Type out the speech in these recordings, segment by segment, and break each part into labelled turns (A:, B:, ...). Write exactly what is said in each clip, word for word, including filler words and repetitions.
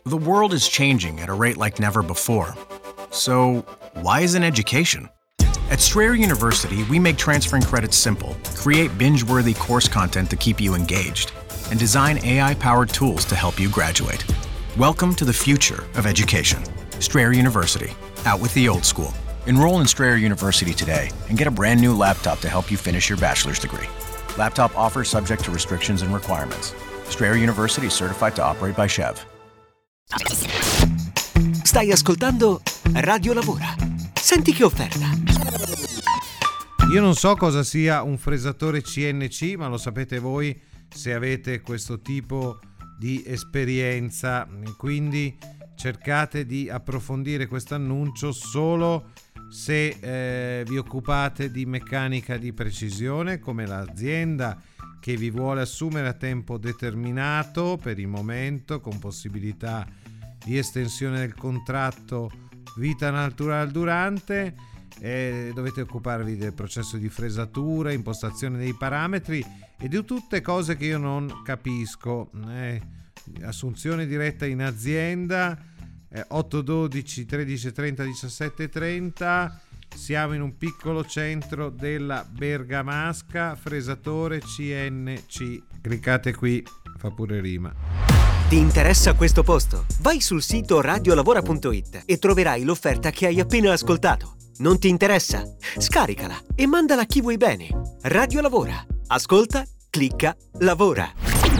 A: The world is changing at a rate like never before. So, why isn't education? At Strayer University, we make transferring credits simple, create binge-worthy course content to keep you engaged, and design A I-powered tools to help you graduate. Welcome to the future of education. Strayer University, out with the old school. Enroll in Strayer University today and get a brand new laptop to help you finish your bachelor's degree. Laptop offer subject to restrictions and requirements. Strayer University is certified to operate by C H E V.
B: Stai ascoltando Radio Lavora. Senti che offerta.
C: Io non so cosa sia un fresatore C N C, ma lo sapete voi se avete questo tipo di esperienza. Quindi cercate di approfondire questo annuncio solo se eh, vi occupate di meccanica di precisione, come l'azienda che vi vuole assumere a tempo determinato per il momento, con possibilità di estensione del contratto vita naturale durante. Eh, dovete occuparvi del processo di fresatura, impostazione dei parametri e di tutte cose che io non capisco. Eh, assunzione diretta in azienda, eh, otto dodici tredici trenta diciassette trenta. Siamo in un piccolo centro della Bergamasca. Fresatore C N C. Cliccate qui, fa pure rima.
B: Ti interessa questo posto? Vai sul sito radiolavora punto it e troverai l'offerta che hai appena ascoltato. Non ti interessa? Scaricala e mandala a chi vuoi bene. Radio Lavora. Ascolta, clicca, lavora.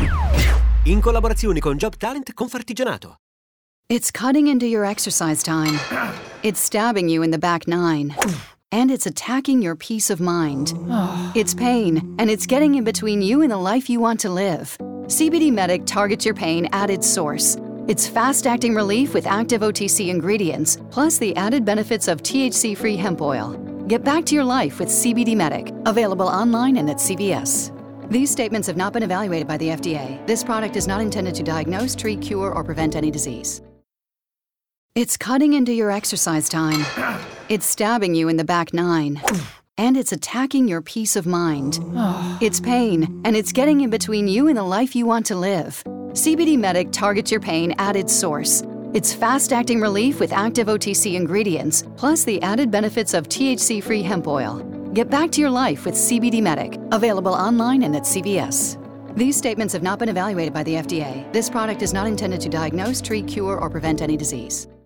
B: In collaborazione con Job Talent Confartigianato.
D: It's cutting into your exercise time. It's stabbing you in the back nine. And it's attacking your peace of mind. It's pain, and it's getting in between you and the life you want to live. C B D Medic targets your pain at its source. It's fast-acting relief with active O T C ingredients, plus the added benefits of T H C-free hemp oil. Get back to your life with C B D Medic, available online and at C V S. These statements have not been evaluated by the F D A. This product is not intended to diagnose, treat, cure, or prevent any disease. It's cutting into your exercise time. It's stabbing you in the back nine. And it's attacking your peace of mind. It's pain, and it's getting in between you and the life you want to live. C B D Medic targets your pain at its source. It's fast-acting relief with active O T C ingredients, plus the added benefits of T H C-free hemp oil. Get back to your life with C B D Medic, available online and at C V S. These statements have not been evaluated by the F D A. This product is not intended to diagnose, treat, cure, or prevent any disease.